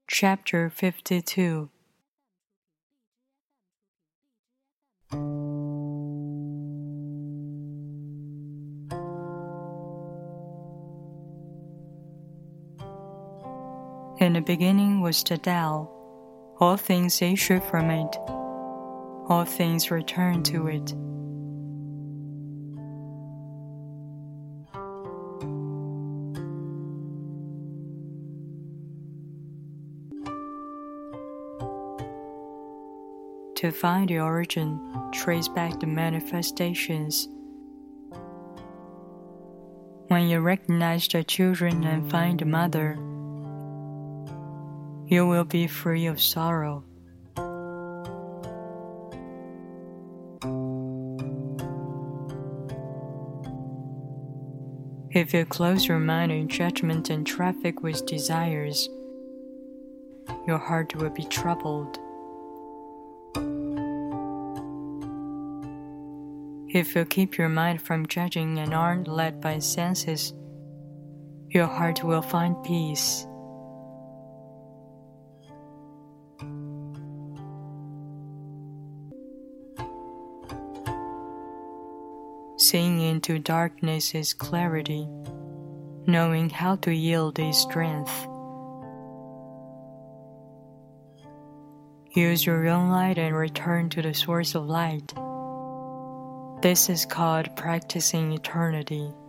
Chapter 52. In the beginning was the Tao. All things issue from it. All things return to it. To find the origin, trace back the manifestations. When you recognize the children and find the mother, you will be free of sorrow. If you close your mind in judgment and traffic with desires, your heart will be troubled. If you keep your mind from judging and aren't led by senses, your heart will find peace. Seeing into darkness is clarity. Knowing how to yield is strength. Use your own light and return to the source of light. This is called practicing eternity.